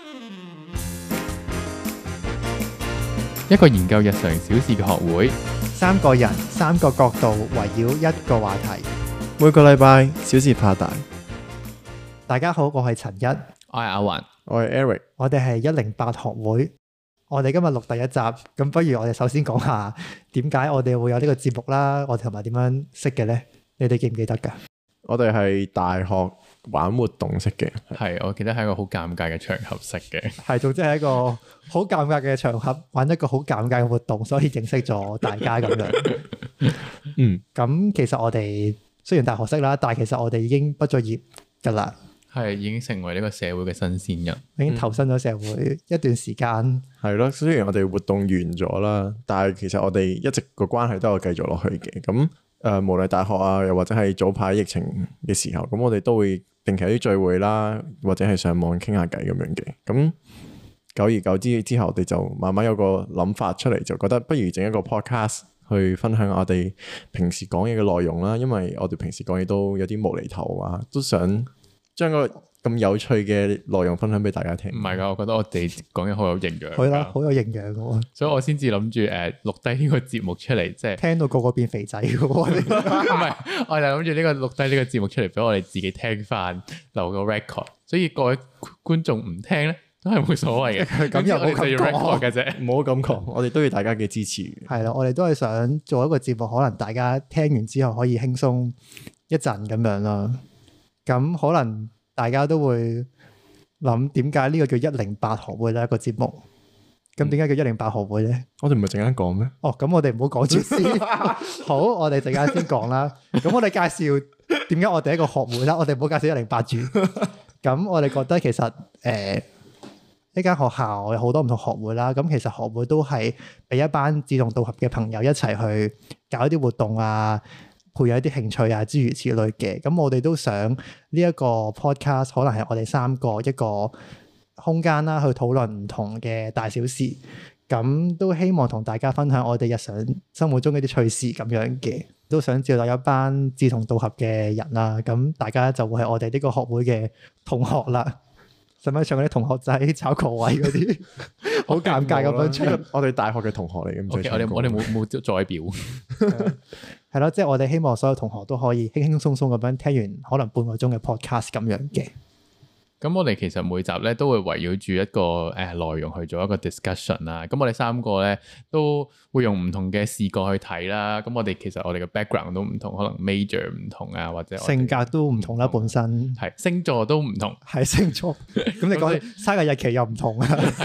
一個研究日常小事嘅學會， 三個人三個角度圍繞一個話題， 每個禮拜小事化大。 大家好，我係陳一， 我係阿環， 我係 Eric， 我哋係108學會。我哋今日錄第一集，咁不如我哋首先講下點解我哋會有呢個節目啦，我哋同埋點樣識嘅呢？你哋記唔記得㗎？ 我哋係大學玩活動識嘅， 係我記得係一個好尷尬嘅場合識嘅， 係總之係一個好尷尬嘅場合，玩一個好尷尬嘅活動，所以認識咗大家咁樣。咁其實我哋雖然大學識啦，但係其實我哋已經畢咗業㗎啦， 係已經成為呢個社會嘅新鮮人， 已經投身咗社會一段時間。 係咯，雖然我哋活動完咗啦，但係其實我哋一直個關係都有繼續落去嘅。咁無論大學啊，又或者係早排疫情嘅時候，咁我哋都會定期有啲聚會啦，或者係上網傾下偈咁樣嘅。咁久而久之後，我哋就慢慢有個諗法出嚟，就覺得不如整一個 podcast 去分享我哋平時講嘢嘅內容啦。因為我哋平時講嘢都有啲無厘頭啊，都想將個咁有趣嘅內容分享俾大家聽。 唔係㗎，我覺得我哋講嘢好有營養。 係啦，好有營養㗎， 所以我先至諗住錄低呢個節目出嚟，即係聽到個個變肥仔㗎喎。 唔係，我就諗住呢個錄低呢個節目出嚟俾我哋自己聽翻，留個 record。所以各位觀眾唔聽咧，都係冇所謂嘅。 咁又冇咁講嘅啫， 唔好咁講。我哋都要大家嘅支持。 係啦，我哋都係想做一個節目，可能大家聽完之後可以輕鬆一陣咁樣啦。咁可能大家都會諗點解呢個叫108學會呢一個節目？咁點解叫108學會咧？ 我哋唔係陣間講咩？ 哦，咁我哋唔好講住先。好，我哋陣間先講啦。咁我哋介紹點解我哋一個學會啦。我哋唔好介紹108住。咁我哋覺得其實呢間學校有好多唔同學會啦。咁其實學會都係俾一班志同道合嘅朋友一齊去搞一啲活動啊，培養一啲興趣啊，諸如此類嘅。咁我哋都想呢一個 podcast 可能係我哋三個一個空間啦，去討論唔同嘅大小事。咁都希望同大家分享我哋日常生活中嘅啲趣事咁樣嘅。都想召集一班志同道合嘅人啦。咁大家就會係我哋呢個學會嘅同學啦。使唔使唱嗰啲同學仔炒球位嗰啲？好尷尬咁樣唱。 我哋大學嘅同學嚟嘅。 Okay，我哋冇再表。 係咯，即係我哋希望所有同學都可以輕輕鬆鬆咁樣聽完可能半個鐘嘅 podcast 咁樣嘅。 咁我哋其實每集咧都會圍繞住一個內容去做一個 discussion 啦。咁我哋三個咧都會用唔同嘅視角去睇啦。咁我哋其實我哋嘅 background 都唔同，可能 major 唔同啊，或者性格都唔同啦，本身係星座都唔同， 係星座。咁你講生日日期又唔同啊，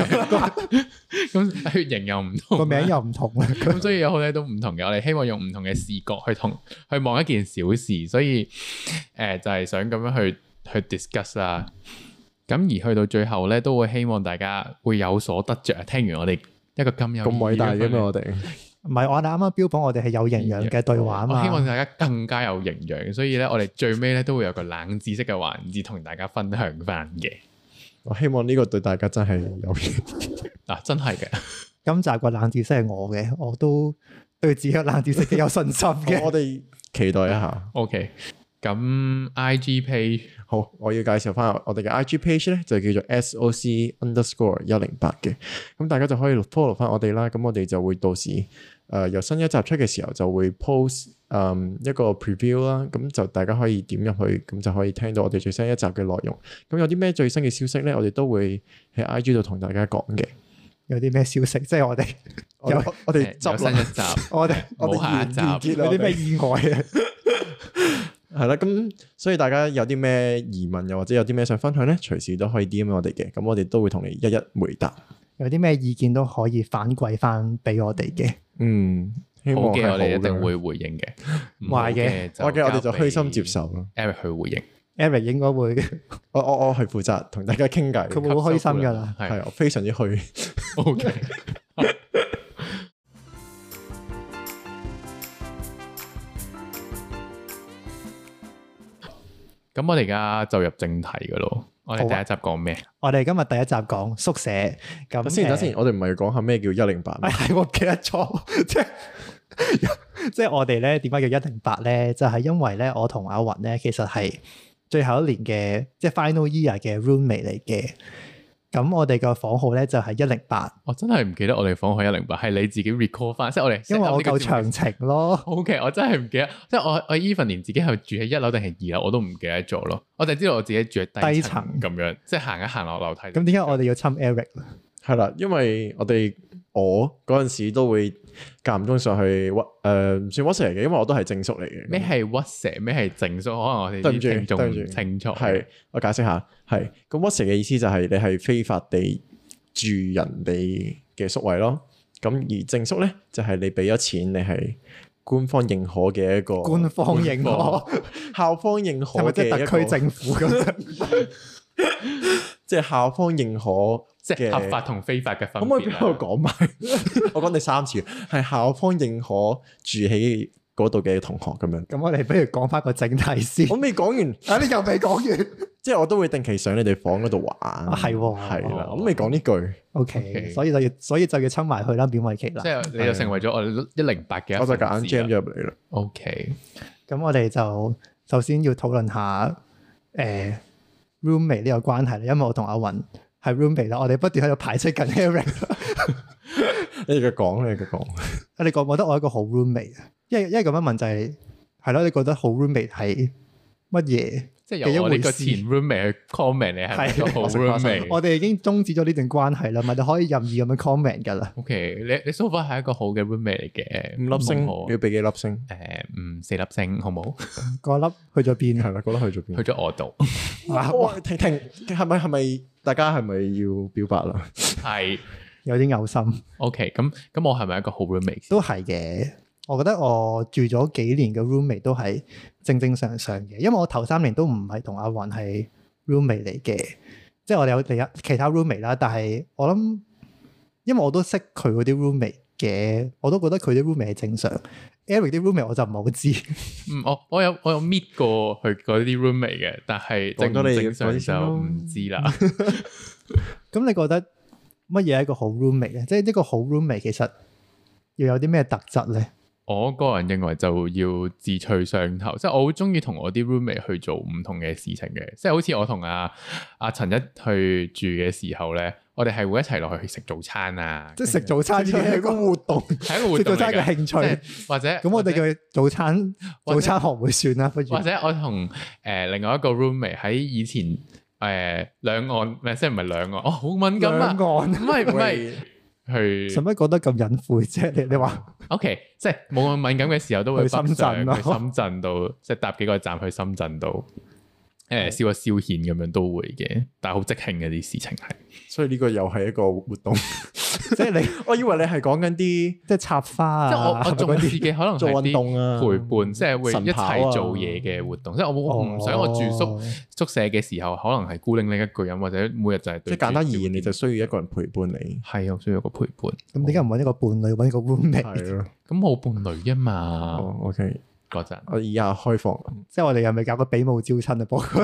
咁血型又唔同， 個名又唔同啦。 咁所以有好多都唔同嘅。我哋希望用唔同嘅視角去望一件小事，所以就係想咁樣去 discuss 啦。咁而去到最後咧，都會希望大家會有所得着。聽完我哋一個咁偉大嘅咩？我哋唔係，我哋啱啱標榜我哋係有營養嘅對話啊嘛。 我希望大家更加有營養，所以咧我哋最尾咧都會有個冷知識嘅環節同大家分享翻嘅。 我希望呢個對大家真係有用。 嗱，真係嘅。 今集個冷知識係我嘅，我都對自己嘅冷知識幾有信心嘅。 我哋期待一下。 OK。咁 IG page 好，我要介紹翻我哋嘅 IG page 咧，就叫做 SOC_108 嘅。咁大家就可以 follow 翻我哋啦。咁我哋就會到時由新一集出嘅時候就會 post 一個 preview 啦。咁就大家可以點入去，咁就可以聽到我哋最新一集嘅內容。咁有啲咩最新嘅消息咧，我哋都會喺 IG 度同大家講嘅。 有啲咩消息？即係我哋我哋有新一集， 我哋冇下一集， 有啲咩意外啊？ 係啦，咁所以大家有啲咩疑問，又或者有啲咩想分享咧，隨時都可以 DM 我哋嘅，咁我哋都會同你一一回答。 有啲咩意見都可以反饋翻俾我哋嘅。 希望係好嘅， 我哋一定會回應嘅。 壞嘅， 我哋就虛心接受咯。 Eric 去回應 ，Eric 應該會， 我係負責同大家傾偈， 佢會好開心噶啦， 係我非常之虛。 OK。咁我哋而家就入正題噶咯。我哋第一集講咩？ 我哋今日第一集講宿舍。咁等先，我哋唔係要講下咩叫108？ 係我記得錯，即係我哋咧點解叫108咧？就係因為咧，我同阿雲咧其實係最後一年嘅即係 final year 嘅 roommate 嚟嘅。 咁我哋個房號咧就係108。 我真係唔記得我哋房號108，係你自己 recall 翻，即係我哋因為我夠長情咯。 OK， 我真係唔記得，即係我 even 連自己係住喺1樓定係2樓我都唔記得咗咯。我就知道我自己住喺低層咁樣，即係行一行落樓梯。 咁點解我哋要侵 Eric？ 係啦，因為我嗰陣時都會間唔中上去唔算屈蛇嘅，因為我都係正宿嚟嘅。 咩係屈蛇？咩係正宿？可能我哋啲聽眾唔清楚。 係，我解釋下，係咁屈蛇嘅意思就係你係非法地住人哋嘅宿位咯。咁而正宿咧就係你俾咗錢，你係官方認可嘅一個官方認可、 校方認可嘅即係特區政府咁樣， 即係校方認可。 即係合法同非法嘅分別。可唔可以俾我講埋？我講第3次，係校方認可住喺嗰度嘅同學咁樣。 咁我哋不如講翻個正題先。 我未講完， 你又未講完。 即係我都會定期上你哋房嗰度玩。 係喎， 係啦，我未講呢句。 OK，所以就要侵埋去啦，勉為其難。 即係你就成為咗我哋108嘅， 我就夾硬 jam 咗入嚟啦。 OK， 咁我哋就首先要討論下roommate 呢個關係啦，因為我同阿雲係 roommate 啦，我哋不斷喺度排斥緊 Eric。 你繼續講，你繼續講。 你覺唔覺得我係一個好 roommate 啊？因為咁樣問就係咯，你覺得好 roommate 係乜嘢？ 即係由我哋個前 roommate 去 comment 你係咪一個好 roommate？ 我哋已經終止咗呢段關係啦，咪你可以任意咁樣 comment 噶啦。 OK， 你 so far 係一個好嘅 roommate 嚟嘅 ，5粒星，你要俾幾粒星 ？4粒星，好冇？ 嗰粒去咗邊？ 係啦，嗰粒去咗邊？ 去咗我度。 停，係咪大家係咪要表白啦？ 係有啲嘔心。 OK，咁我係咪一個好 roommate？ 都係嘅。我覺得我住咗幾年嘅 roommate 都係正正常常嘅，因為我頭3年都唔係同阿雲係 roommate 嚟嘅，即係我哋有其他 roommate 啦。但係我諗，因為我都識佢嗰啲 roommate 嘅，我都覺得佢啲 roommate 係正常。Eric 啲 roommate 我就唔係好知。 我有 meet 過佢嗰啲 roommate 嘅，但係正常就唔知啦。 咁你覺得乜嘢係一個好 roommate 咧？即係呢個好 roommate 其實要有啲咩特質咧？ 我個人認為就要志趣相投，即係我好中意同我啲 roommate 去做唔同嘅事情嘅，即係好似我同阿陳一去住嘅時候咧，我哋係會一齊落去食早餐啊！ 即係食早餐已經係一個活動， 係一個活動嚟嘅。 食早餐嘅興趣，或者咁我哋嘅早餐學會算啦，不如或者我同另外一個 roommate 喺以前兩岸，唔係即係唔係兩岸，好敏感啊！ 兩岸唔係。去使乜講得咁隱晦啫？你話 OK， 即係冇咁敏感嘅時候都會去深圳咯， 去深圳度即係搭幾個站去深圳度消遣咁樣都會嘅，但係好即興嘅啲事情係， 所以呢個又係一個活動。 即係你， 我以為你係講緊啲即係插花啊， 即係我重視嘅可能做運動啊， 陪伴，即係會一齊做嘢嘅活動。即係我唔想我住宿舍嘅時候，可能係孤零零一個人，或者每日就係即係簡單而言，你就需要一個人陪伴你。 係啊，需要一個陪伴。 咁點解唔揾一個伴侶，揾一個 roommate？ 係咯， 咁冇伴侶啊嘛。 OK， 嗰陣我以下開放， 即係我哋又咪搞個比武招親啊？波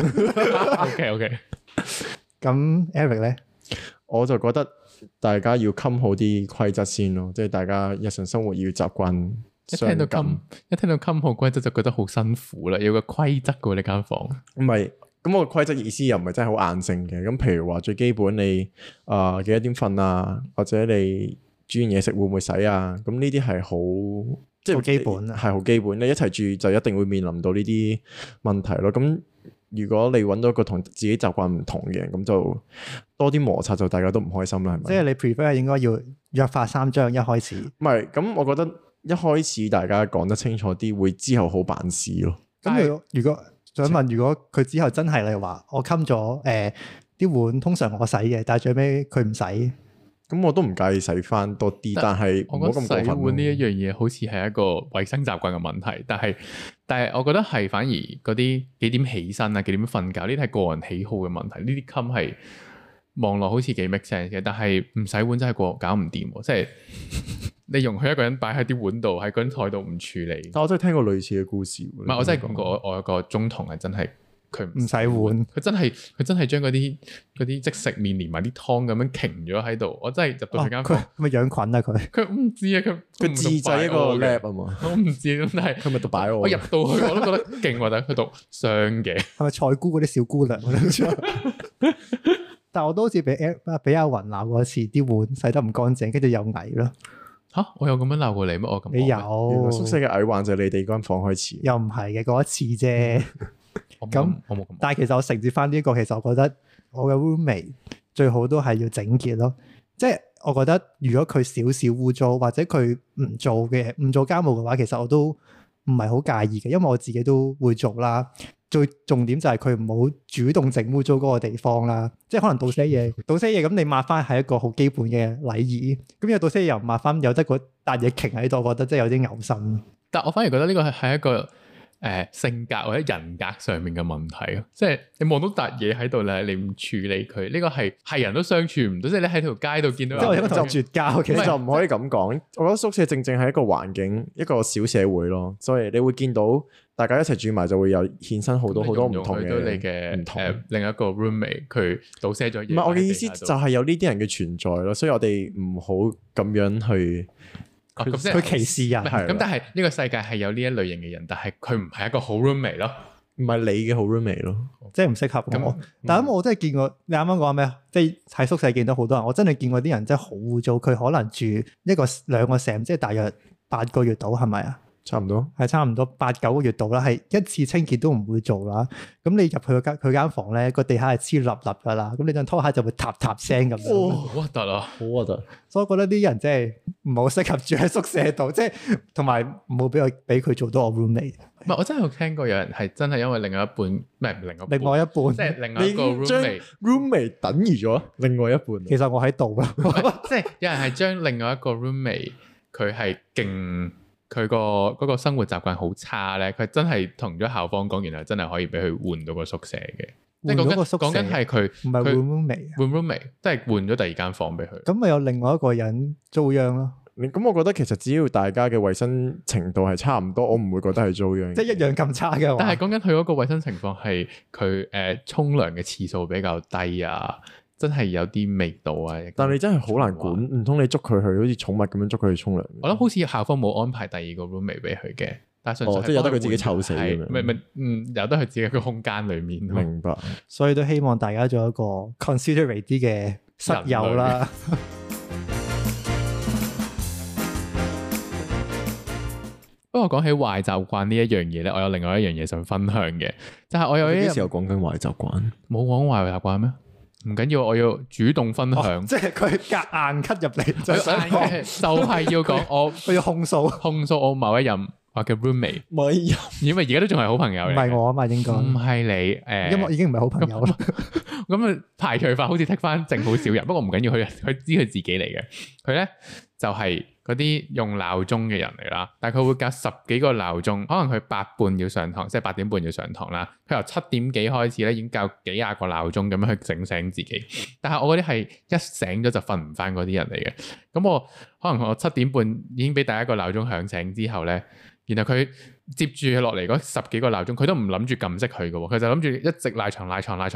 OK。 咁 Eric 咧， 我就覺得大家要襟好啲規則先咯，即係大家日常生活要習慣。 一聽到襟好規則就覺得好辛苦啦，有個規則噶呢間房。 唔係，咁我規則意思又唔係真係好硬性嘅。咁譬如話最基本你幾多點瞓啊，或者你煮完嘢食會唔會洗啊？咁呢啲係好即係好基本， 係好基本。你一齊住就一定會面臨到呢啲問題咯。咁如果你揾到一個同自己習慣唔同嘅人，咁就多啲摩擦，就大家都唔開心啦，係咪？ 即係你 prefer 應該要約法三章一開始。 唔係，咁我覺得一開始大家講得清楚啲，會之後好辦事咯。 咁如果想問，如果佢之後真係你話我冚咗啲碗，通常我洗嘅，但係最尾佢唔洗。 咁我都唔介意洗翻多啲，但係唔好咁過分。 洗碗呢一樣嘢好似係一個衛生習慣嘅問題，但係我覺得係反而嗰啲幾點起身啊、幾點瞓覺呢啲係個人喜好嘅問題。呢啲襟係望落好似幾 make sense 嘅，但係唔洗碗真係搞唔掂喎。即係你容許一個人擺喺啲碗度，喺嗰張台度唔處理。 但我真係聽過類似嘅故事。唔係，我真係講過，我有個中同係真係。佢唔洗碗， 佢真係將嗰啲即食麵連埋啲湯咁樣擎咗喺度，我真係入到佢間房。 佢咪養菌啊？佢唔知啊，佢自製一個 lab 啊嘛。 我唔知咁，但係佢咪讀擺我。 我入到去我都覺得勁喎，但係佢讀商嘅。 係咪菜姑嗰啲小姑娘？ 但我都好似俾阿雲鬧過一次，啲碗洗得唔乾淨，跟住又矮咯。 吓，我有咁樣鬧過你咩？我咁你有宿舍嘅矮患就係你哋間房開始， 又唔係嘅嗰一次啫。咁我冇咁， 但係其實我承接翻呢個，其實我覺得我嘅 roommate 最好都係要整潔咯。即係我覺得如果佢少少污糟，或者佢唔做家務嘅話，其實我都唔係好介意嘅，因為我自己都會做啦。最重點就係佢唔好主動整污糟嗰個地方啦，即係可能倒瀉嘢咁，你抹翻係一個好基本嘅禮儀。咁有倒瀉嘢又唔抹翻，有得嗰笪嘢擎喺度，我覺得真係有啲嘔心。但我反而覺得呢個係一個性格或者人格上面嘅問題咯，即係你望到笪嘢喺度咧，你唔處理佢，呢個係人都相處唔到，即係你喺條街度見到， 即係我覺得就絕交。其實就唔可以咁講。我覺得宿舍正係一個環境，一個小社會咯，所以你會見到大家一齊住埋就會有衍生好多唔同嘅你嘅另一個 roommate 佢倒瀉咗嘢。 唔係我嘅意思就係有呢啲人嘅存在咯，所以我哋唔好咁樣去。 佢歧視人， 咁但係呢個世界係有呢一類型嘅人，但係佢唔係一個好 roommate 咯， 唔係你嘅好 roommate 咯， 即係唔適合我。但係我真係見過，你啱啱講咩？即係喺宿舍見到好多人，我真係見過啲人真係好污糟，佢可能住2個 sem，即係大約8個月到，係咪啊？ 差唔多， 係差唔多8、9個月度啦，係一次清潔都唔會做啦。咁你入去佢間房咧，個地下係黐立立噶啦，咁你對拖鞋就會嗒嗒聲咁樣。 好核突啊！好核突。 所以我覺得啲人真係唔好適合住喺宿舍度，即係同埋唔好俾佢做到我 roommate。 唔係，我真係有聽過有人係真係因為另外一半，唔係另外一半，即係另外一個 roommate 等於咗另外一半。 其實我喺度啦， 即係有人係將另外一個 roommate 佢係勁。佢嗰個生活習慣好差咧，佢真係同咗校方講，然後真係可以俾佢換到個宿舍嘅。即係講緊係佢唔係換 roommate， 即係換咗第二間房俾佢。 咁咪有另外一個人遭殃咯。 咁我覺得其實只要大家嘅衞生程度係差唔多，我唔會覺得係遭殃。 即係一樣咁差嘅話。 但係講緊佢嗰個衞生情況係佢沖涼嘅次數比較低啊。真係有啲味道啊！ 但係你真係好難管，唔通你捉佢去好似寵物咁樣捉佢去沖涼？ 我諗好似校方冇安排第二個 roommate 俾佢嘅，但係純粹即係由得佢自己臭死咁樣。 由得佢自己個空間裡面。 明白。 所以都希望大家做一個 considerate 啲嘅室友啦。 不過講起壞習慣呢一樣嘢咧，我有另外一樣嘢想分享嘅，就係我有啲時候講緊壞習慣， 冇講壞習慣咩？唔緊要，我要主動分享。 即係佢夾硬 cut 入嚟，就係要講佢要控訴我某一任我嘅 roommate，因為而家都仲係好朋友嚟。 唔係我啊嘛，應該唔係你， 因為已經唔係好朋友啦。 咁啊排除法好似剔翻正好少人，不過唔緊要，佢知佢自己嚟嘅。佢咧就係嗰啲用鬧鐘嘅人嚟啦，但係佢會隔10幾個鬧鐘，可能佢8半要上堂，即係8點半要上堂啦。佢由7點幾開始咧，已經校幾廿個鬧鐘咁樣去整醒自己。但係我嗰啲係一醒咗就瞓唔翻嗰啲人嚟嘅。咁我可能我7點半已經俾第一個鬧鐘響醒之後咧，然後佢接住落嚟嗰10幾個鬧鐘，佢都唔諗住撳熄佢嘅喎，佢就諗住一直賴床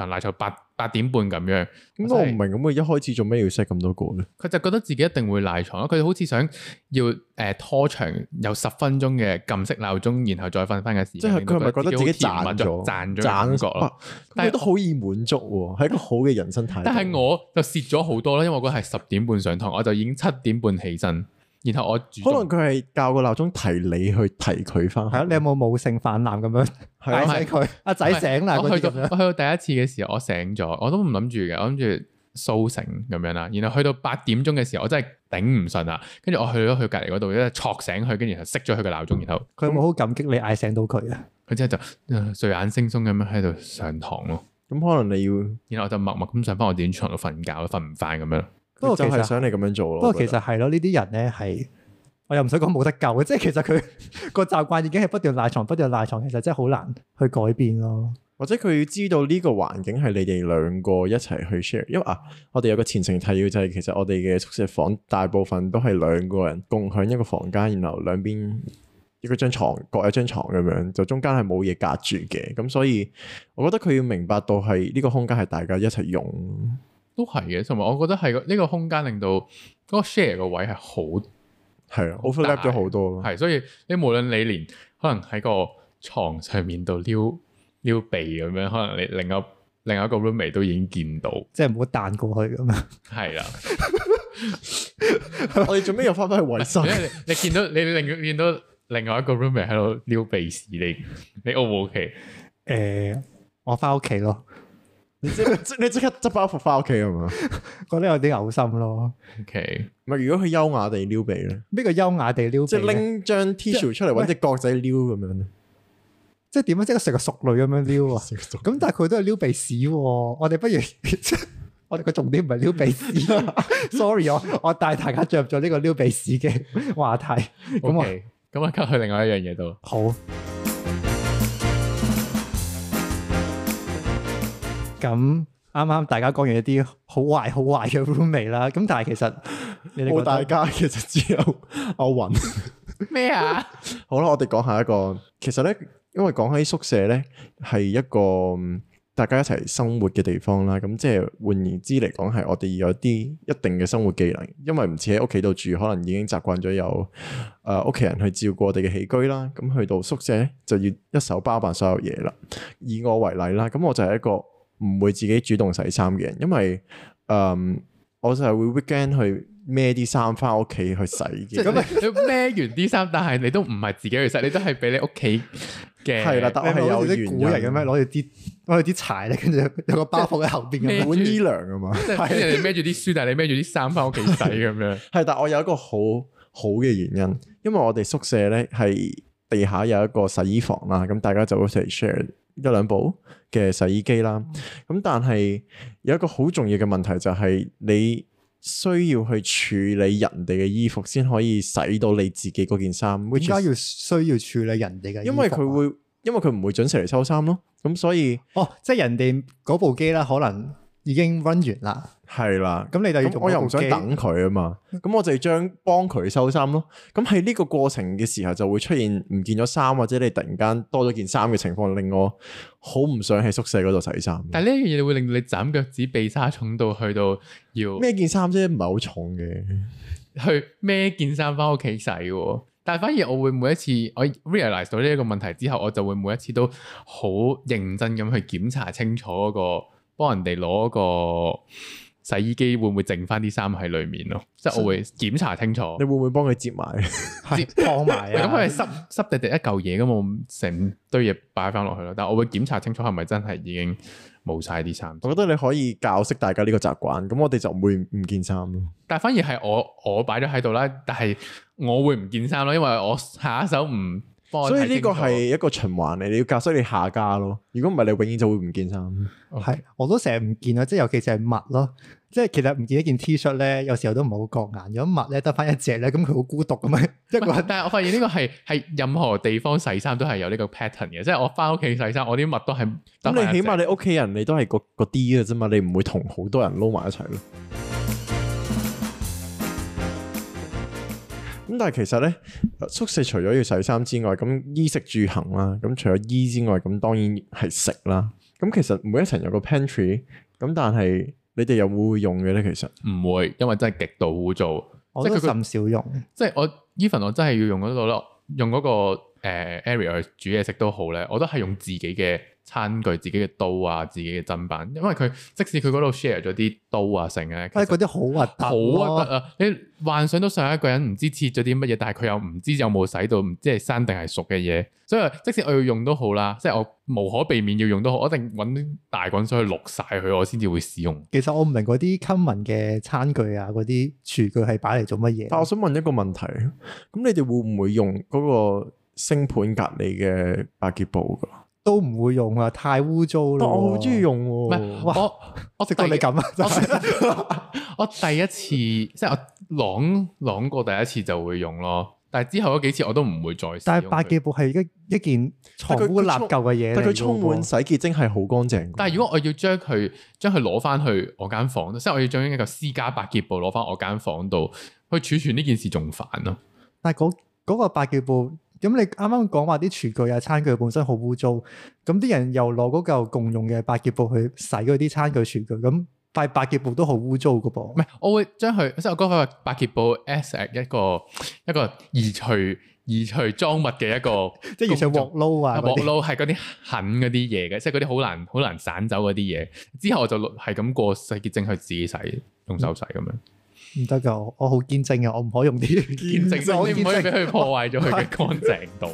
8點半咁樣。 咁我唔明，咁佢一開始做咩要 set 咁多個咧？ 佢就覺得自己一定會賴床咯，佢好似想要拖長有10分鐘嘅撳熄鬧鐘，然後再瞓翻嘅時間。 即係佢係咪覺得自己賺咗感覺咯？ 但係都好易滿足喎，係一個好嘅人生態度。 但係我就蝕咗好多啦，因為我嗰係10點半上堂，我就已經7點半起身。然後我可能佢係校個鬧鐘提你去提佢翻。係啊，你有冇母性泛濫咁樣嗌醒佢？阿仔醒啦！ 我去到第一次嘅時候，我醒咗，我都唔諗住嘅，我諗住蘇醒咁樣啦。然後去到8點鐘嘅時候，我真係頂唔順啦。跟住我去咗佢隔離嗰度，一戳醒佢，跟住就熄咗佢個鬧鐘。然後佢有冇好感激你嗌醒到佢啊？ 佢之後就睡眼惺忪咁樣喺度上堂咯。 咁可能你要， 然後我就默默咁上翻我自己床度瞓覺，瞓唔翻咁樣。 不過就係想你咁樣做咯。 不過其實係咯，呢啲人咧係，我又唔想講冇得救嘅，即係其實佢個習慣已經係不斷賴床，其實真係好難去改變咯。 或者佢要知道呢個環境係你哋兩個一齊去 share，因為我哋有個前情提要就係其實我哋嘅宿舍房大部分都係兩個人共享一個房間，然後兩邊一個張床各一張床咁樣，就中間係冇嘢隔住嘅。咁所以我覺得佢要明白到係呢個空間係大家一齊用。 都係嘅，同埋我覺得係呢個空間令到嗰個 share 個位係好係啊，overlap 咗好多咯。 係，所以你無論你連可能喺個床上面度撩鼻咁樣，可能你另另外一個 roommate 都已經見到， 即係唔好彈過去咁樣。係啦， 我哋做咩又翻返去衛生？ 你見到見到另外一個 roommate 喺度撩鼻屎，你 O 唔 OK？ 我翻屋企咯。 你即刻執包袱翻屋企係嘛？ 覺得有啲嘔心咯。 OK， 咪如果佢優雅地撩鼻咧？ 咩叫優雅地撩鼻？即係拎張 tissue 出嚟揾隻角仔撩咁樣咧？ 即係點樣？即係食個熟女咁樣撩啊？咁但係佢都係撩鼻屎喎。我哋不如我哋個重點唔係撩鼻屎。Sorry， 我帶大家進入咗呢個撩鼻屎嘅話題。 咁我吸去另外一樣嘢度。 好。咁啱啱大家講完一啲好壞嘅 roommate 啦，咁但係其實冇大家，其實只有阿雲咩啊？ 好啦，我哋講下一個，其實咧，因為講起宿舍咧，係一個大家一齊生活嘅地方啦。咁即係換言之嚟講，係我哋有啲一定嘅生活技能，因為唔似喺屋企度住，可能已經習慣咗有屋企人去照顧我哋嘅起居啦。咁去到宿舍咧，就要一手包辦所有嘢啦。以我為例啦，咁我就係一個唔會自己主動洗衫嘅人，因為我就係會 weekend 去孭啲衫翻屋企去洗嘅。 咁你孭完啲衫，但係你都唔係自己去洗，你都係俾你屋企嘅。係啦， 但係有啲古人嘅咩？攞住啲柴咧，跟住有個包袱喺後邊嘅碗衣糧啊嘛。 係人哋孭住啲書，但係你孭住啲衫翻屋企洗咁樣。 係，但我有一個好嘅原因，因為我哋宿舍咧係地下有一個洗衣房啦，咁大家就一齊 share 一兩部嘅洗衣機啦，咁但係有一個好重要嘅問題就係你需要去處理人哋嘅衣服先可以洗到你自己嗰件衫。點解要需要處理人哋嘅衣服？ 因為佢唔會準時嚟收衫咯，咁所以即係人哋嗰部機啦，可能已經 run 完啦。 係啦， 咁你就要用， 我又唔想等佢啊嘛，咁我就將幫佢收衫咯。咁喺呢個過程嘅時候就會出現唔見咗衫，或者你突然間多咗件衫嘅情況，令我好唔想喺宿舍嗰度洗衫。 但係呢樣嘢會令到你斬腳趾避沙蟲到去到要孭件衫啫，唔係好重嘅， 去孭件衫翻屋企洗。但係反而我會每一次我 realize 到呢一個問題之後，我就會每一次都好認真咁去檢查清楚嗰個幫人哋攞個洗衣機會唔會剩翻啲衫喺裏面咯？即係我會檢查清楚。 你會唔會幫佢摺埋、 燙埋啊？ 咁佢係濕地一嚿嘢咁，我成堆嘢擺翻落去咯。但係我會檢查清楚係咪真係已經冇晒啲衫。 我覺得你可以教識大家呢個習慣，咁我哋就唔會唔見衫咯。 但係反而係我擺咗喺度啦，但係我會唔見衫咯，因為我下一手唔。 所以呢個係一個循環嚟，你要教識你下家咯。如果唔係，你永遠就會唔見衫。 係，我都成日唔見啊！即係尤其是係襪咯，即係其實唔見一件 T 恤咧，有時候都唔係好覺眼。如果襪咧得翻一隻咧，咁佢好孤獨咁樣一個人。 但係我發現呢個係任何地方洗衫都係有呢個 pattern 嘅，即係我翻屋企洗衫，我啲襪都係。 咁你起碼你屋企人你都係個啲嘅啫嘛，你唔會同好多人撈埋一齊咯。咁但係其實咧，宿舍除咗要洗衫之外，咁衣食住行啦，咁除咗衣之外，咁當然係食啦。咁其實每一層有個 pantry，咁但係你哋有冇會用嘅咧？其實唔會，因為真係極度污糟， 我都甚少用。 即係我 even 我真係要用嗰度咯，用嗰個area 去煮嘢食都好咧，我都係用自己嘅餐具、自己嘅刀啊、自己嘅砧板，因為佢即使佢嗰度 share 咗啲刀啊成咧， 嗰啲好核突， 好核突啊！你幻想到上一個人唔知切咗啲乜嘢，但係佢又唔知有冇洗到，唔知係生定係熟嘅嘢，所以即使我要用都好啦，即係我無可避免要用都好，我一定揾大滾水去淥晒佢，我先至會使用。 其實我唔明嗰啲 common 嘅餐具啊，嗰啲廚具係擺嚟做乜嘢？ 但我想問一個問題，咁你哋會唔會用嗰個星盤隔離嘅百潔布㗎？ 都唔會用啊，太污糟咯。 我好中意用喎。 唔係我食到你咁啊！ 我第一次即係我啷過第一次就會用咯，但係之後嗰幾次我都唔會再使用。 但係百潔布係一件藏污納垢嘅嘢， 但佢充滿洗潔精係好乾淨。 但係如果我要將佢攞翻去我間房，即係我要將一個私家百潔布攞翻我間房度去儲存呢件事仲煩咯。 但係嗰個百潔布。咁你啱啱講話啲廚具啊、餐具本身好污糟，咁啲人又攞嗰嚿共用嘅百潔布去洗嗰啲餐具廚具，咁塊百潔布都好污糟噶噃。唔係， 我會將佢即係我嗰塊百潔布 as 一個移除移除贓物嘅一個， 即係移除鑊撈啊， 鑊撈係嗰啲狠嗰啲嘢嘅，即係嗰啲好難散走嗰啲嘢。之後我就係咁過洗潔精去自己洗，用手洗咁樣。 唔得噶，我好堅貞嘅，我唔可以用啲堅貞，你唔可以俾佢破壞咗佢嘅乾淨度。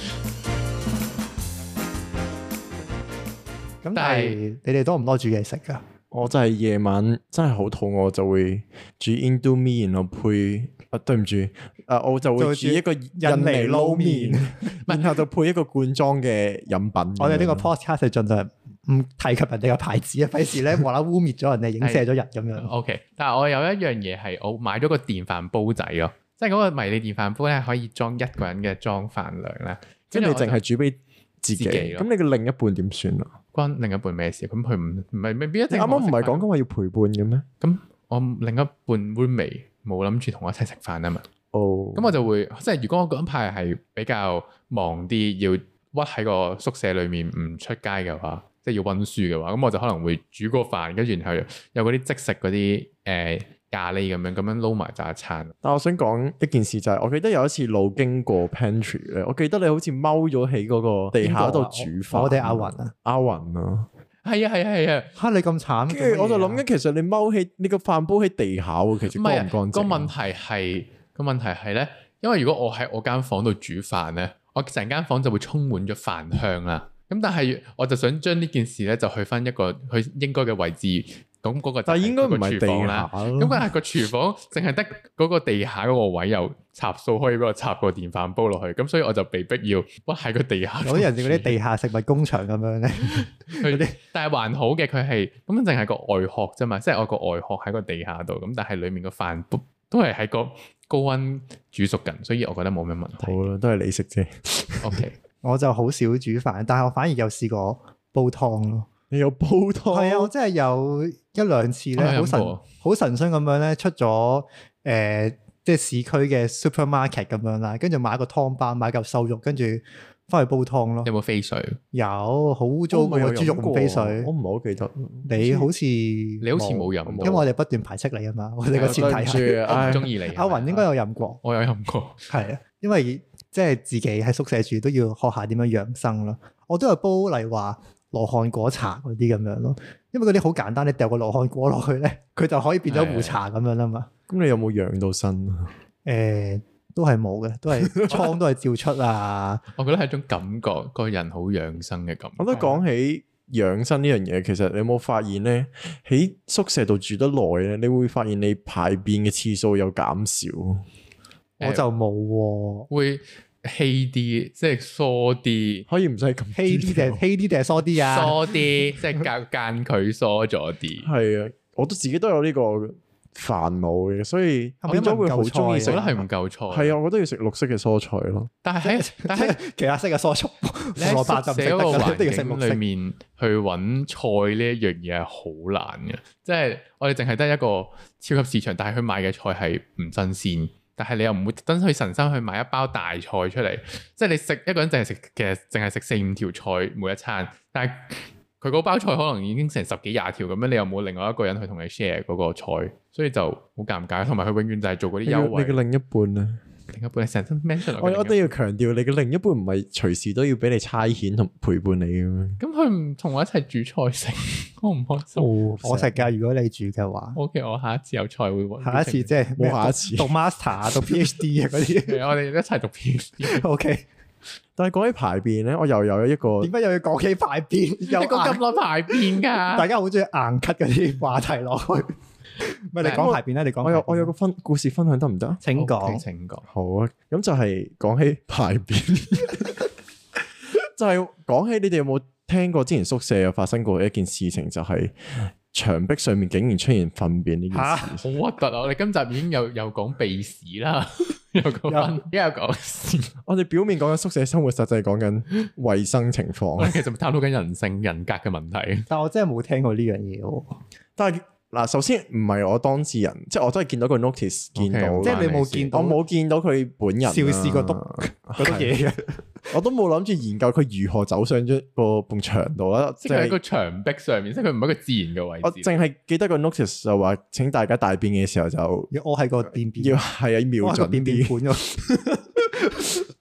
咁但係你哋多唔多煮嘢食噶？ 我就係夜晚真係好肚餓，就會煮 Indomie，然後配對唔住，我就會煮一個印尼撈麵，然後就配一個罐裝嘅飲品。 我哋呢個 podcast 係盡量唔提及人哋嘅牌子啊，費事咧無啦污衊咗人哋，影射咗人咁樣。 OK， 但係我有一樣嘢係我買咗個電飯煲仔咯，即係嗰個迷你電飯煲咧可以裝一個人嘅裝飯量啦。 即係你淨係煮俾自己，咁你嘅另一半點算啊？ 關另一半咩事？咁佢唔係未必一定。 你啱啱唔係講緊話要陪伴嘅咩？咁我另一半 roommate 冇諗住同我一齊食飯啊嘛。 哦， 咁我就會即係如果我嗰排係比較忙啲，要屈喺個宿舍裏面唔出街嘅話，即係要溫書嘅話，咁我就可能會煮個飯，跟住然後有嗰啲即食嗰啲咖喱咁樣撈埋就一餐。 但我想講一件事就係，我記得有一次路經過 pantry 咧，我記得你好似踎咗喺嗰個地下度煮飯。 我哋阿雲啊， 阿雲啊， 係啊， 嚇你咁慘。 跟住我就諗緊，其實你踎喺你個飯煲喺地下喎，其實乾唔乾淨？ 個問題係咧，因為如果我喺我間房度煮飯咧，我成間房就會充滿咗飯香啦。咁但係我就想將呢件事咧，就去翻一個佢應該嘅位置。咁嗰個，但係應該唔係地下。咁但係個廚房淨係得嗰個地下嗰個位有插數可以俾我插個電飯煲落去，咁所以我就被逼要屈喺個地下。 有啲人哋嗰啲地下食物工場咁樣咧， 但係還好嘅，佢係咁淨係個外殼啫嘛，即係我個外殼喺個地下度，咁但係裡面個飯都係喺個高溫煮熟緊，所以我覺得冇咩問題。 好啦，都係你食啫。 OK， 我就好少煮飯，但係我反而有試過煲湯咯。 你有煲湯？ 係啊，我真係有一兩次咧，好神心咁樣咧，出咗即係市區嘅 supermarket 咁樣啦，跟住買個湯包，買嚿瘦肉，跟住翻去煲湯咯。 有冇飛水？ 有，好污糟嘅豬肉唔飛水。 我唔係好記得。 你好似冇飲， 因為我哋不斷排斥你啊嘛。我哋個前提係我唔中意你。 阿雲應該有飲過， 我有飲過。 係啊，因為即係自己喺宿舍住都要學下點樣養生咯。我都有煲，例如話羅漢果茶嗰啲咁樣咯，因為嗰啲好簡單，你掉個羅漢果落去咧，佢就可以變咗壺茶咁樣啦嘛。 咁你有冇養到身啊？ 都係冇嘅，都係瘡都係照出啊。 我覺得係一種感覺，個人好養生嘅感覺。 我都講起養生呢樣嘢，其實你有冇發現咧？喺宿舍度住得耐咧，你會發現你排便嘅次數有減少。 我就冇喎， 會稀啲，即係疏啲， 可以唔使咁稀啲定係疏啲啊？ 疏啲，即係間距疏咗啲。 係啊，我都自己都有呢個煩惱嘅，所以變咗會好中意食。 我覺得係唔夠菜。 係啊，我覺得要食綠色嘅蔬菜咯。 但係其他色嘅蔬菜， 你喺宿舍嗰個環境裏面去揾菜呢一樣嘢係好難嘅，即係我哋淨係得一個超級市場，但係佢賣嘅菜係唔新鮮。但係你又唔會特登去神心去買一包大菜出嚟，即係你食一個人淨係食，其實淨係食4-5條菜每一餐，但係佢嗰包菜可能已經成10幾20條咁樣，你又冇另外一個人去同你 share 嗰個菜，所以就好尷尬。同埋佢永遠就係做嗰啲優惠。 你嘅另一半咧？ 另一半係成身 mention。 我都要強調，你嘅另一半唔係隨時都要俾你差遣同陪伴你嘅咩？ 咁佢唔同我一齊煮菜食，我唔開心。 我食㗎，如果你煮嘅話。 OK， 我下一次有菜會揾。 下一次即係冇下一次。 讀 master 讀 PhD 啊嗰啲。 我哋一齊讀 PhD。 OK。 但係講起排便咧，我又有一個。 點解又要講起排便？ 又講咁耐排便㗎？ 大家好中意硬 cut 嗰啲話題落去。咪你講排便啦，你講。 我有個故事分享得唔得？ 請講， 請講。 好啊，咁就係講起排便，就係講起你哋有冇聽過之前宿舍有發生過一件事情，就係牆壁上面竟然出現糞便呢件事。 好核突啊！我哋今集已經又講鼻屎啦，又講屎。 我哋表面講緊宿舍生活，實際講緊衛生情況。 其實探討緊人性人格嘅問題。 但我真係冇聽過呢樣嘢喎。 但係嗱，首先唔係我當事人，即係我都係見到個 notice，見到， 即係你冇見到， 我冇見到佢本人。 邵氏個篤嗰啲嘢嘅， 我都冇諗住研究佢如何走上咗個埲牆度啦。 即係喺個牆壁上面，即係佢唔係一個自然嘅位置。 我淨係記得個 notice 就話，請大家大便嘅時候就要屙喺個便便， 要係啊，瞄準啲。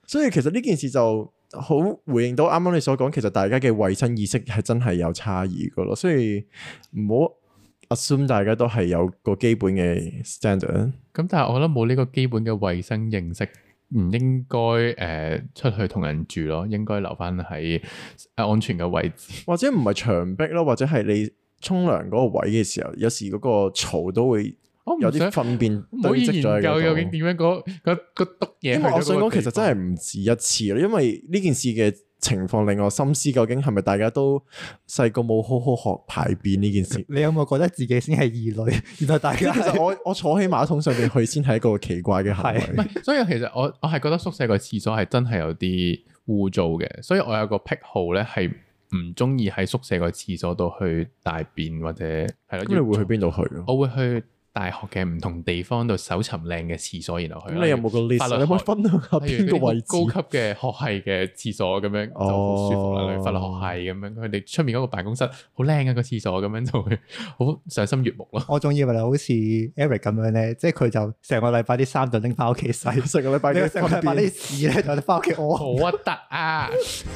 所以其實呢件事就好回應到啱啱你所講，其實大家嘅衛生意識係真係有差異噶咯，所以唔好 assume 大家都係有個基本嘅 standard。 咁但係我覺得冇呢個基本嘅衛生認識，唔應該出去同人住咯，應該留翻喺安全嘅位置， 或者唔係牆壁咯，或者係你沖涼嗰個位嘅時候，有時嗰個槽都會有啲糞便堆積咗喺嗰度。 研究究竟點樣嗰篤嘢？ 因為我想講，其實真係唔止一次啦。因為呢件事嘅情況令我深思，究竟係咪大家都細個冇好好學排便呢件事？ 你有冇覺得自己先係異類？原來大家其實我坐喺馬桶上邊去先係一個奇怪嘅行為。 唔係，所以其實我係覺得宿舍個廁所係真係有啲污糟嘅，所以我有個癖好咧係唔中意喺宿舍個廁所度去大便或者係咯。 咁你會去邊度去？ 我會去大學嘅唔同地方度搜尋靚嘅廁所，然後去。 咁你有冇個 list？你可以分享下邊個位置？ 高級嘅學系嘅廁所咁樣就好舒服啦。你法律學系咁樣，佢哋出面嗰個辦公室好靚啊個廁所，咁樣就會好賞心悅目咯。 我仲以為你好似 Eric 咁樣咧，即係佢就成個禮拜啲衫就拎翻屋企洗， 成個禮拜啲屎咧就拎翻屋企屙， 好核突啊！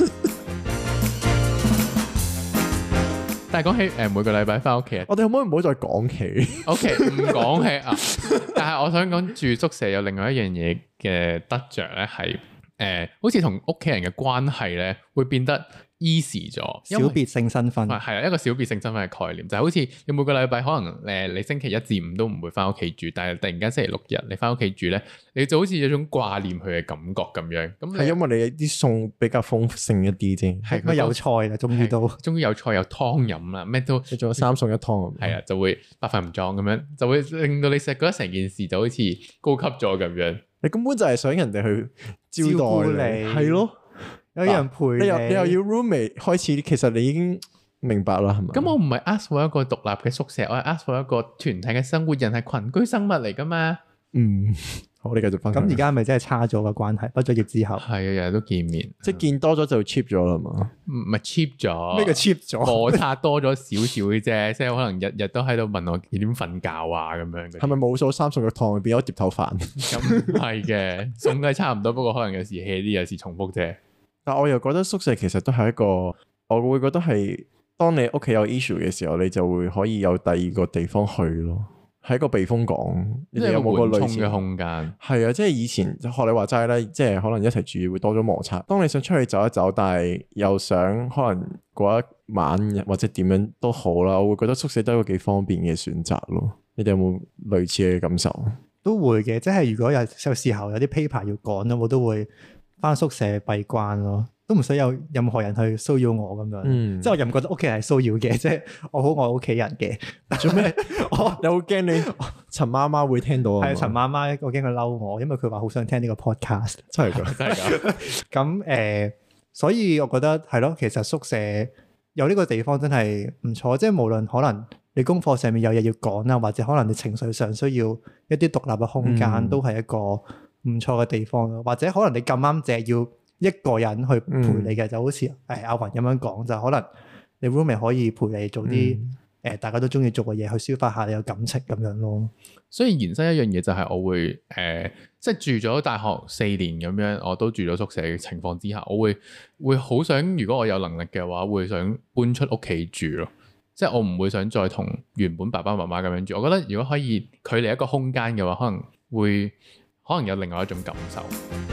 但係講起每個禮拜翻屋企， 我哋可唔可以唔好再講起 ？OK， 唔講起啊！但係我想講住宿舍有另外一樣嘢嘅得着咧，係好似同屋企人嘅關係咧會變得 easy 咗， 小別性身份係啊，一個小別性身份嘅概念，就係好似你每個禮拜可能你星期一至五都唔會翻屋企住，但係突然間星期六日你翻屋企住咧，你就好似有種掛念佢嘅感覺咁樣。咁係因為你啲餸比較豐盛一啲啫， 係乜有菜啦，終於有菜有湯飲啦，咩都你仲有3餸1湯， 係啊，就會百飯唔裝咁樣，就會令到你覺得成件事就好似高級咗咁樣。 你根本就係想人哋去招待你，係咯。 有人陪你， 你又要 roommate 開始，其實你已經明白啦，係咪？ 咁我唔係 ask for 一個獨立嘅宿舍，我係 ask for 一個團體嘅生活，人係群居生物嚟噶嘛。 好，你繼續分享。 咁而家係咪真係差咗個關係？畢咗業之後， 係啊，日日都見面， 即係見多咗就 cheap 咗啦嘛？ 唔係 cheap 咗， 咩叫 cheap 咗？ 摩擦多咗少少嘅啫，即係可能日日都喺度問我幾點瞓覺啊咁樣。 係咪冇數3餸1湯變咗碟頭飯？ 咁係嘅，餸都係差唔多，不過可能有時 hea 啲，有時重複啫。 但我又覺得宿舍其實都係一個，我會覺得係當你屋企有 issue 嘅時候，你就會可以有第二個地方去咯，係一個避風港。你哋有冇個類似嘅空間？ 係啊，即係以前學你話齋咧，即係可能一齊住會多咗摩擦。當你想出去走一走，但係又想可能過一晚或者點樣都好啦，我會覺得宿舍都係一個幾方便嘅選擇咯。你哋有冇類似嘅感受？ 都會嘅，即係如果有時候有啲 paper 要趕咯，我都會翻宿舍閉關咯，都唔使有任何人去騷擾我咁樣。即係我又唔覺得屋企人係騷擾嘅，即係我好愛屋企人嘅。 做咩？你好驚你陳媽媽會聽到啊？ 係陳媽媽，我驚佢嬲我，因為佢話好想聽呢個 podcast。 真係㗎，真係㗎。 咁所以我覺得係咯，其實宿舍有呢個地方真係唔錯，即係無論可能你功課上面有嘢要講啊，或者可能你情緒上需要一啲獨立嘅空間，都係一個唔錯嘅地方咯，或者可能你咁啱淨係要一個人去陪你嘅，就好似阿雲咁樣講，就可能你 roommate 可以陪你做啲大家都中意做嘅嘢，去抒發下你嘅感情咁樣咯。 所以延伸一樣嘢就係我會即係住咗大學4年咁樣，我都住咗宿舍嘅情況之下，我會好想，如果我有能力嘅話，會想搬出屋企住咯。即係我唔會想再同原本爸爸媽媽咁樣住。我覺得如果可以距離一個空間嘅話，可能有另外一種感受。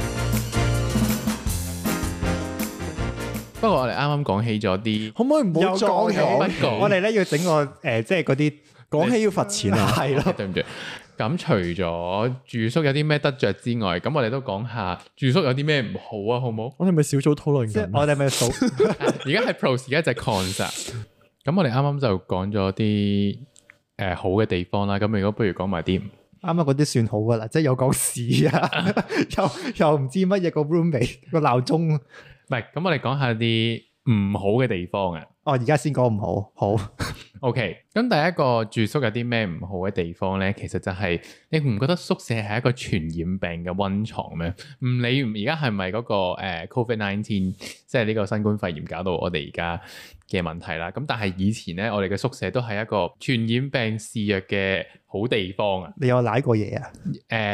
不過我哋啱啱講起咗啲， 可唔可以唔好再講？ 我哋咧要整個即係嗰啲講起要罰錢啊！ 係咯， 對唔住。咁除咗住宿有啲咩得着之外，咁我哋都講下住宿有啲咩唔好啊，好唔好？ 我哋咪小組討論緊。 我哋咪數。 而家係 pros，而家就係 cons 啊。咁我哋啱啱就講咗啲好嘅地方啦。咁如果不如講埋啲。 啱啱嗰啲算好噶啦，即係有講屎啊，又唔知乜嘢個 roommate 個鬧鐘，唔係，咁我哋講下啲唔好嘅地方啊。 哦，而家先講唔好，好 OK。咁第一個住宿有啲咩唔好嘅地方咧？其實就係你唔覺得宿舍係一個傳染病嘅溫床咩？唔理而家係咪嗰個COVID-19，即係呢個新冠肺炎搞到我哋而家嘅問題啦。咁但係以前咧，我哋嘅宿舍都係一個傳染病肆虐嘅好地方啊！ 你有舐過嘢啊？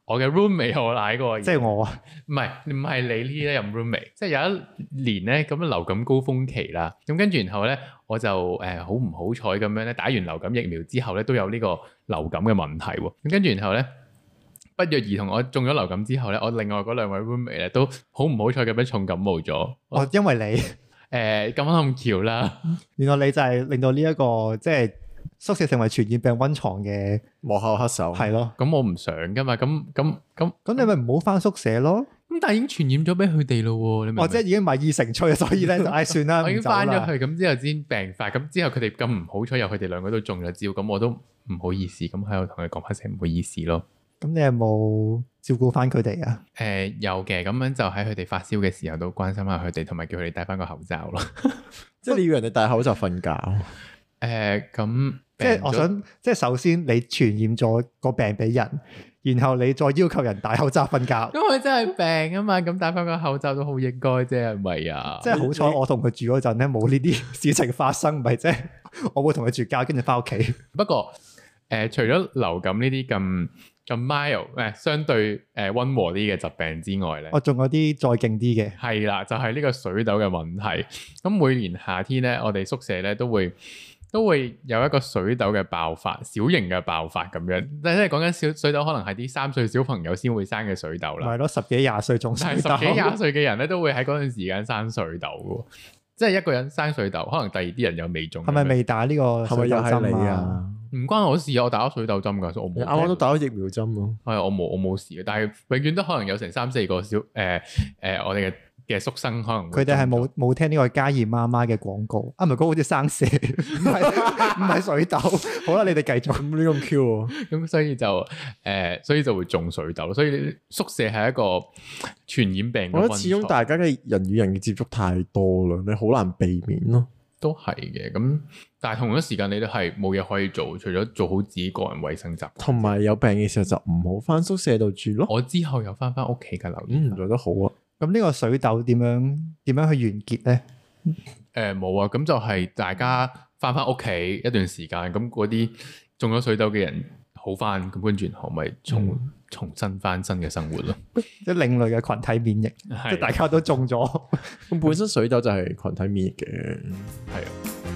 我嘅 roommate 我舐過， 即係我啊， 唔係你呢一任 roommate，即係有一年咧咁流感高峰期啦，咁跟住然後咧我就好唔好彩咁樣咧打完流感疫苗之後咧都有呢個流感嘅問題喎，咁跟住然後咧不約而同我中咗流感之後咧，我另外嗰兩位 roommate 咧都好唔好彩咁樣重感冒咗。 哦，因為你咁啱咁巧啦， 原來你就係令到呢一個即係宿舍成為傳染病溫床嘅幕後黑手。 係咯， 咁我唔想噶嘛，咁你咪唔好翻宿舍咯。 咁但係已經傳染咗俾佢哋咯喎，你明唔明？ 即係已經米已成炊，所以咧就算啦， 我已經翻咗去， 去。 咁之後先病發，咁之後佢哋咁唔好彩，又佢哋兩個都中咗招，咁我都唔好意思，咁喺度同佢講翻聲唔好意思咯。 咁你有冇照顧翻佢哋啊？ 有嘅，咁樣就喺佢哋發燒嘅時候都關心下佢哋，同埋叫佢哋戴翻個口罩咯。 即係你要人哋戴口罩瞓覺。 咁即係我想，即係首先你傳染咗個病俾人，然後你再要求人戴口罩瞓覺。 因為真係病啊嘛，咁戴翻個口罩都好應該啫，係咪啊？ 即係好彩我同佢住嗰陣咧，冇呢啲事情發生，唔係即係我會同佢絕交，跟住翻屋企。 不過除咗流感呢啲咁 mild 相對溫和啲嘅疾病之外咧， 我仲有啲再勁啲嘅， 係啦，就係呢個水痘嘅問題。咁每年夏天咧，我哋宿舍咧都會有一個水痘嘅爆發，小型嘅爆發咁樣。但係講緊水痘，可能係啲3歲小朋友先會生嘅水痘啦。 係咯，10幾20歲仲水痘， 但係10幾20歲嘅人咧都會喺嗰段時間生水痘嘅，即係一個人生水痘，可能第二啲人又未中。 係咪未打呢個水痘針啊？ 唔關我事啊，我打咗水痘針噶，所以我冇。 啱啱都打咗疫苗針咯。 係我冇事嘅，但係永遠都可能有成3-4個我哋嘅宿生可能佢哋係冇聽呢個嘉義媽媽嘅廣告啊，唔係嗰個好似生蛇，唔係水痘。好啦，你哋繼續。咁呢咁 Q 喎， 咁所以就會中水痘，所以宿舍係一個傳染病。 我覺得始終大家嘅人與人嘅接觸太多啦，你好難避免咯。 都係嘅，咁但係同一時間你都係冇嘢可以做，除咗做好自己個人衛生習慣， 同埋有病嘅時候就唔好翻宿舍度住咯。 我之後又翻屋企嘅，留意做得好啊。 咁呢個水痘點樣去完結咧？ 冇啊，咁就係大家翻屋企一段時間，咁嗰啲中咗水痘嘅人好翻，咁跟住然後咪重新翻新嘅生活咯。 即係另類嘅群體免疫，即係大家都中咗。 咁本身水痘就係群體免疫嘅， 係啊。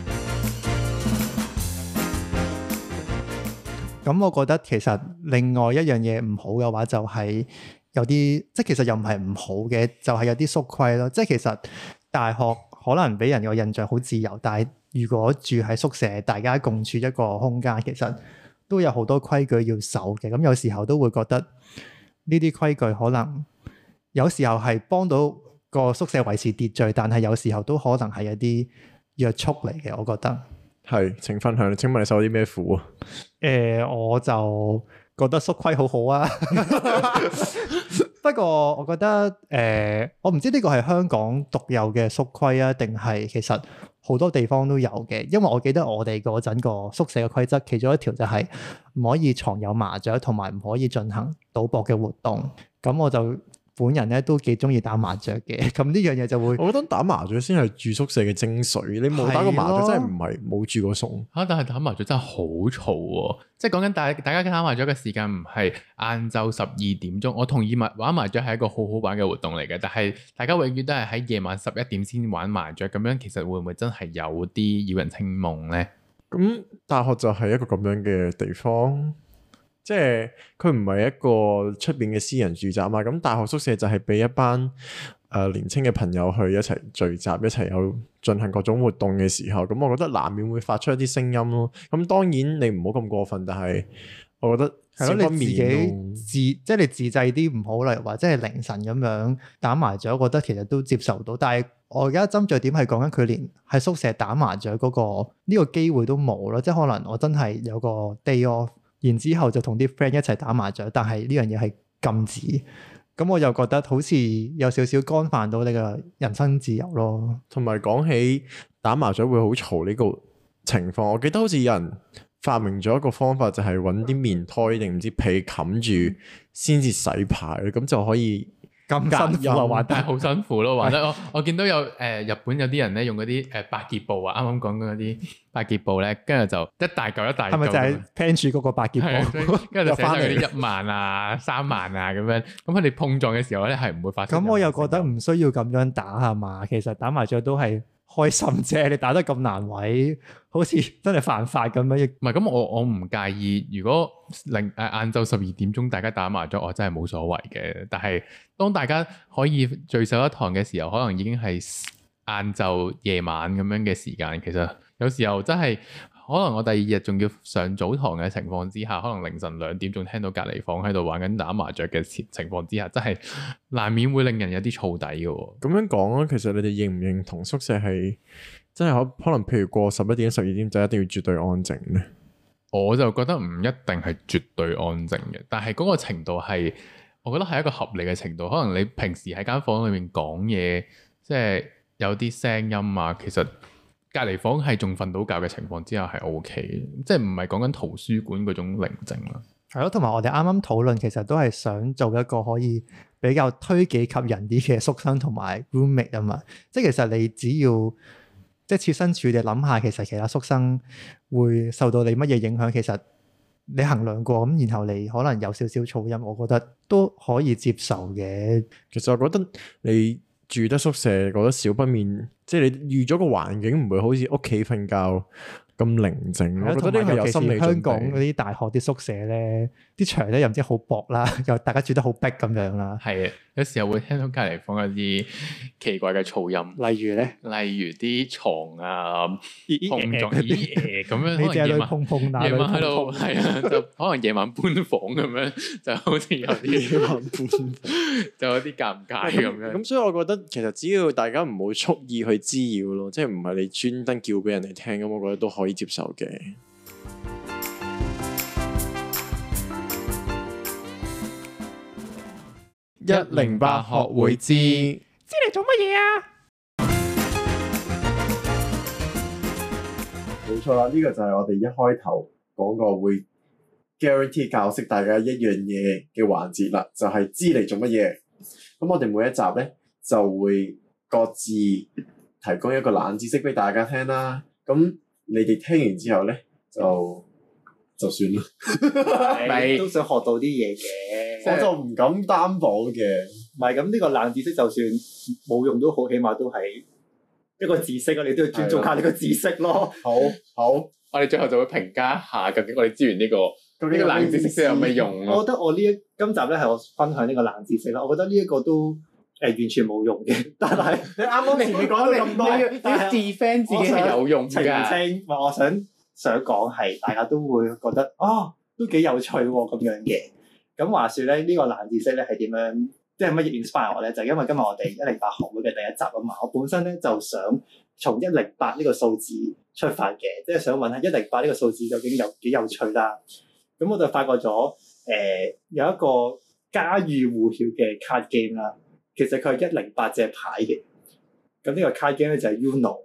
咁我覺得其實另外一樣嘢唔好嘅話，就係有啲即係其實又唔係唔好嘅，就係有啲縮規咯。即係其實大學可能俾人個印象好自由，但係如果住喺宿舍，大家共處一個空間，其實都有好多規矩要守嘅。咁有時候都會覺得呢啲規矩可能有時候係幫到個宿舍維持秩序，但係有時候都可能係一啲約束嚟嘅。我覺得係，請分享。請問你受啲咩苦啊？ 我就覺得縮規好好啊。不過我覺得我唔知呢個係香港獨有嘅縮規啊，定係其實好多地方都有嘅。因為我記得我哋嗰陣個宿舍嘅規則，其中一條就係唔可以藏有麻雀，同埋唔可以進行賭博嘅活動。咁我就本人咧都幾中意打麻雀嘅，咁呢樣嘢就會， 我覺得打麻雀先係住宿舍嘅精髓。你冇打過麻雀，真係唔係冇住過餸嚇。但係打麻雀真係好嘈喎，即係講緊大家打麻雀嘅時間唔係晏晝12點鐘。我同意玩麻雀係一個好好玩嘅活動嚟嘅，但係大家永遠都係喺夜晚11點先玩麻雀，咁樣其實會唔會真係有啲擾人清夢咧？ 咁大學就係一個咁樣嘅地方。即係佢唔係一個出邊嘅私人住宅嘛，咁大學宿舍就係俾一班年輕嘅朋友去一齊聚集，一齊有進行各種活動嘅時候，咁我覺得難免會發出一啲聲音咯。咁當然你唔好咁過分，但係我覺得係咯，你自己即係你自制啲唔好，例如話即係凌晨咁樣打麻雀，我覺得其實都接受到。但係我而家針對點係講緊佢連喺宿舍打麻雀嗰個呢個機會都冇咯，即係可能我真係有個 day off。然之後就同啲 friend 一齊打麻雀，但係呢樣嘢係禁止，咁我又覺得好似有少少干犯到你嘅人身自由咯。 同埋講起打麻雀會好嘈呢個情況，我記得好似有人發明咗一個方法，就係揾啲棉胎定唔知被冚住先至洗牌，咁就可以咁辛苦啊，玩得係好辛苦咯，玩得我見到有日本有啲人咧用嗰啲百潔布啊，啱啱講嗰啲百潔布咧，跟住就一大嚿一大嚿，係咪就係 plan 住嗰個百潔布？ 跟住就寫上嗰啲1萬啊、3萬啊咁樣，咁佢哋碰撞嘅時候咧係唔會發生。 咁我又覺得唔需要咁樣打係嘛，其實打麻雀都係開心啫，你打得咁難為，好似真係犯法咁樣。 唔係咁，我唔介意。如果晏晝12點鐘大家打麻雀，我真係冇所謂嘅。但係當大家可以聚首一堂嘅時候，可能已經係晏晝夜晚咁樣嘅時間。其實有時候真係可能我第二日仲要上早堂嘅情況之下，可能凌晨2點仲聽到隔離房喺度玩緊打麻雀嘅情況之下，真係難免會令人有啲燥底嘅喎。 咁樣講啊，其實你哋認唔認同宿舍係真係可能譬如過11點、12點就一定要絕對安靜咧？ 我就覺得唔一定係絕對安靜嘅，但係嗰個程度係，我覺得係一個合理嘅程度。可能你平時喺間房裏面講嘢，即係有啲聲音啊，其實隔離房係仲瞓到覺嘅情況之下係 OK 嘅，即係唔係講緊圖書館嗰種寧靜啦。 係咯，同埋我哋啱啱討論，其實都係想做一個可以比較推己及人啲嘅宿生同埋 roommate 啊嘛。即係其實你只要即係設身處地諗下，其實其他宿生會受到你乜嘢影響，其實你衡量過咁，然後你可能有少少噪音，我覺得都可以接受嘅。 其實我覺得你住得宿舍，覺得少不免，即係你預咗個環境唔會好似屋企瞓覺咁寧靜。我覺得呢個係有心理準備。香港嗰啲大學啲宿舍咧，啲牆咧又唔知好薄啦，又大家住得好逼咁樣啦。 係啊，有時候會聽到隔離房有啲奇怪嘅噪音， 例如咧， 例如啲床啊碰撞咁樣， 你淨係去碰碰打， 夜晚喺度係啊，就可能夜晚搬房咁樣，就好似有啲夜晚搬房，就有啲尷尬咁樣。 咁所以我覺得其實只要大家唔好蓄意去滋擾咯，即係唔係你專登叫俾人哋聽咁，我覺得都可以接受嘅。108學會知你做乜嘢啊？ 冇錯啦，呢個就係我哋一開頭講過會 guarantee 教識大家一樣嘢嘅環節啦，就係知你做乜嘢。咁我哋每一集咧就會各自提供一個冷知識俾大家聽啦。咁你哋聽完之後咧就算啦， 都想學到啲嘢嘅， 我就唔敢擔保嘅。 唔係咁，呢個冷知識就算冇用都好，起碼都係一個知識啊！你都要尊重下呢個知識咯。 好， 我哋最後就會評價一下究竟我哋知完呢個冷知識有咩用咯。 我覺得我今集咧係我分享呢個冷知識啦。我覺得呢一個都完全冇用嘅，但係你啱啱前面講咗咁多， 要 defend 自己係有用㗎。 澄清，我想講係大家都會覺得都幾有趣喎咁樣嘅。咁話說咧，呢個冷知識咧係點樣？即係乜嘢 inspire 我咧？就係因為今日我哋108學會嘅第一集啊嘛。我本身咧就想從108呢個數字出發嘅，即係想問下108呢個數字究竟有幾有趣啦。咁我就發覺咗有一個家喻戶曉嘅 card game 啦。其實佢係108隻牌嘅。咁呢個 card game 咧就係 Uno。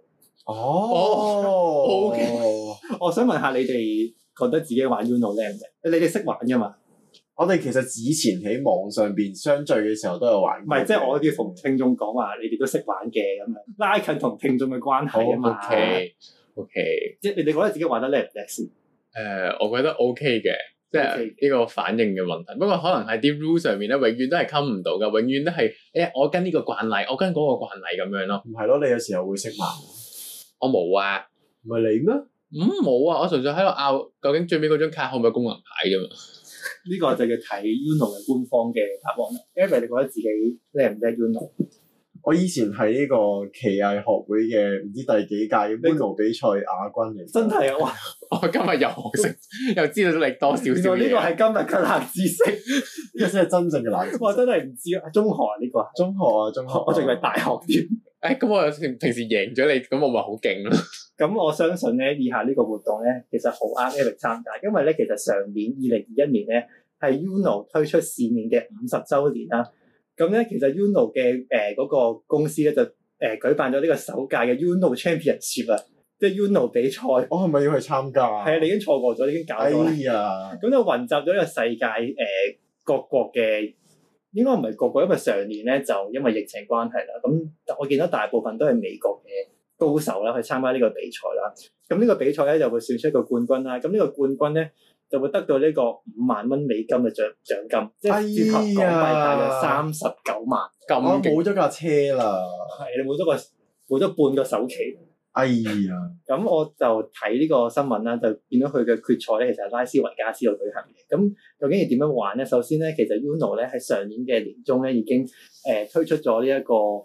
OK。 我想問下你哋覺得自己玩 Uno 叻唔叻？你哋識玩㗎嘛？ 我哋其實以前喺網上邊相聚嘅時候都有玩過。 唔係，即係我要同聽眾講話，你哋都識玩嘅咁樣，拉近同聽眾嘅關係啊嘛。 OK。 即係你哋覺得自己玩得叻唔叻先？ 我覺得 OK 嘅，即係呢個反應嘅問題。不過可能喺啲 rule 上面咧，永遠都係溝唔到㗎，永遠都係我跟呢個慣例，我跟嗰個慣例咁樣咯。 唔係咯，你有時候會識玩。 我冇啊。 唔係你咩？ 冇啊！我純粹喺度拗，究竟最尾嗰張卡可唔可以功能牌啫嘛？ 呢個就要睇 Uno 嘅官方嘅答案啦。Evan，你覺得自己叻唔叻 Uno？ 我以前係呢個奇藝學會嘅唔知第幾屆 Uno 比賽亞軍嚟。 真係啊！ 我今日又學識，又知道你多少少嘢。 呢個係今日嘅冷知識， 呢個先係真正嘅冷知識。 我真係唔知啊！中學啊呢個。中學，我仲以為大學添。咁我平時贏咗你，咁我咪好勁咯。 咁我相信咧，以下呢個活動咧，其實好啱 Eric 參加，因為咧，其實上年2021年咧係 Uno 推出市面嘅50週年啦。咁咧，其實 Uno 嘅嗰個公司咧就舉辦咗呢個首屆嘅 Uno Championship 啊，即係 Uno 比賽。我係咪要去參加啊？係啊，你已經錯過咗，已經搞咗。哎呀！咁就雲集咗呢個世界各國嘅應該唔係個個，因為上年咧就因為疫情關係啦，咁我見到大部分都係美國嘅高手啦去參加呢個比賽啦。咁呢個比賽咧就會選出一個冠軍啦。咁呢個冠軍咧就會得到呢個5萬蚊美金嘅獎金，即係折合港幣大約39萬。 我冇咗架車啦， 係你冇咗半個首期。 哎呀！ 咁我就睇呢個新聞啦，就見到佢嘅決賽咧，其實係拉斯維加斯度舉行嘅。咁究竟係點樣玩咧？首先咧，其實 Uno 咧喺上年嘅年中咧已經推出咗呢一個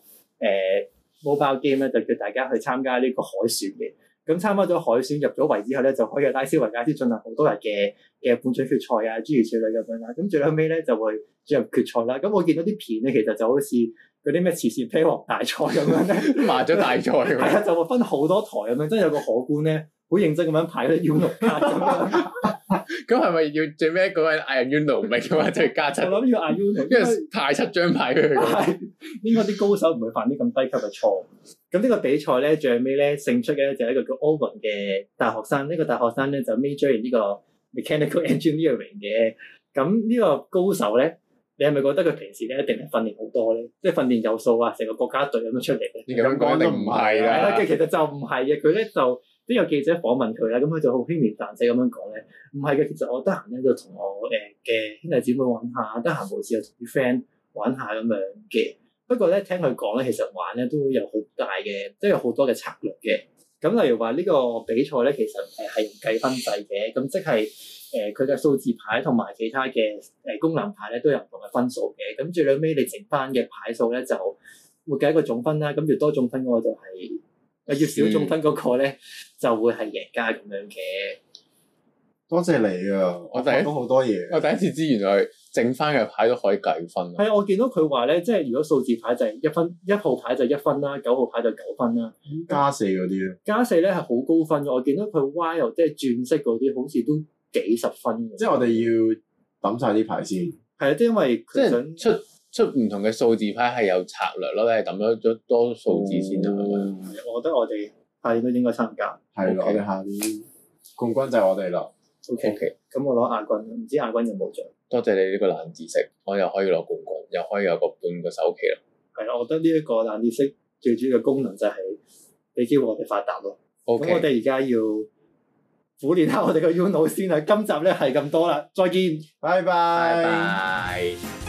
mobile game 咧，就叫大家去參加呢個海選嘅。咁參加咗海選入咗圍之後咧，就可以喺拉斯維加斯進行好多日嘅半準決賽啊，諸如此類咁樣啦。咁最後尾咧就會進入決賽啦。咁我見到啲片咧，其實就好似嗰啲咩慈善啤王大賽咁樣咧， 麻雀大賽咁樣。 係啊，就會分好多台咁樣，真係有個荷官咧，好認真咁樣排嗰啲 Uno 卡咁樣。 咁係咪要最尾嗰個人嗌 Uno 唔係嘅話就係加七？ 我諗要嗌 Uno， 因為派7張牌俾佢。 係應該啲高手唔會犯啲咁低級嘅錯誤。咁呢個比賽咧，最尾咧勝出嘅就係一個叫 Owen 嘅大學生。呢個大學生咧就 major in 呢個 mechanical engineering 嘅。咁呢個高手咧，你係咪覺得佢平時咧一定係訓練好多咧？即係訓練有素啊，成個國家隊咁樣出嚟嘅？ 你咁講一定唔係啦。 其實就唔係嘅，佢咧就都有記者訪問佢啦。咁佢就好輕描淡寫咁樣講咧，唔係嘅。其實我得閒咧就同我嘅兄弟姊妹玩下，得閒無事就同啲 friend 玩下咁樣嘅。不過咧，聽佢講咧，其實玩咧都有好大嘅，即係有好多嘅策略嘅。咁例如話呢個比賽咧，其實係用計分制嘅，咁即係佢嘅數字牌同埋其他嘅功能牌咧都有唔同嘅分數嘅。咁最尾你剩翻嘅牌數咧就會計一個總分啦。咁越多總分嗰個就係越少總分嗰個咧就會係贏家咁樣嘅。 多謝你啊！我學到好多嘢。 我第一次知原來剩翻嘅牌都可以計分。 係啊，我見到佢話咧，即係如果數字牌就係1分，1號牌就1分啦，9號牌就9分啦。 加4嗰啲咧？加 4咧係好高分嘅，我見到佢 wild 即係轉色嗰啲，好似都幾十分嘅。 即係我哋要抌晒啲牌先。 係啊，即係因為佢想出唔同嘅數字牌係有策略咯，你係抌咗多數字先啊。 我覺得我哋下年都應該參加。 係咯，我哋下年冠軍就係我哋啦。 OK，咁我攞亞軍，唔知亞軍有冇獎？ 多謝你呢個冷知識，我又可以攞冠軍，又可以有個半個首期啦。 係啦，我覺得呢一個冷知識最主要嘅功能就係俾機會我哋發達咯。咁我哋而家要苦練下我哋嘅 Uno 先啦。今集咧係咁多啦，再見， 拜拜。 拜拜。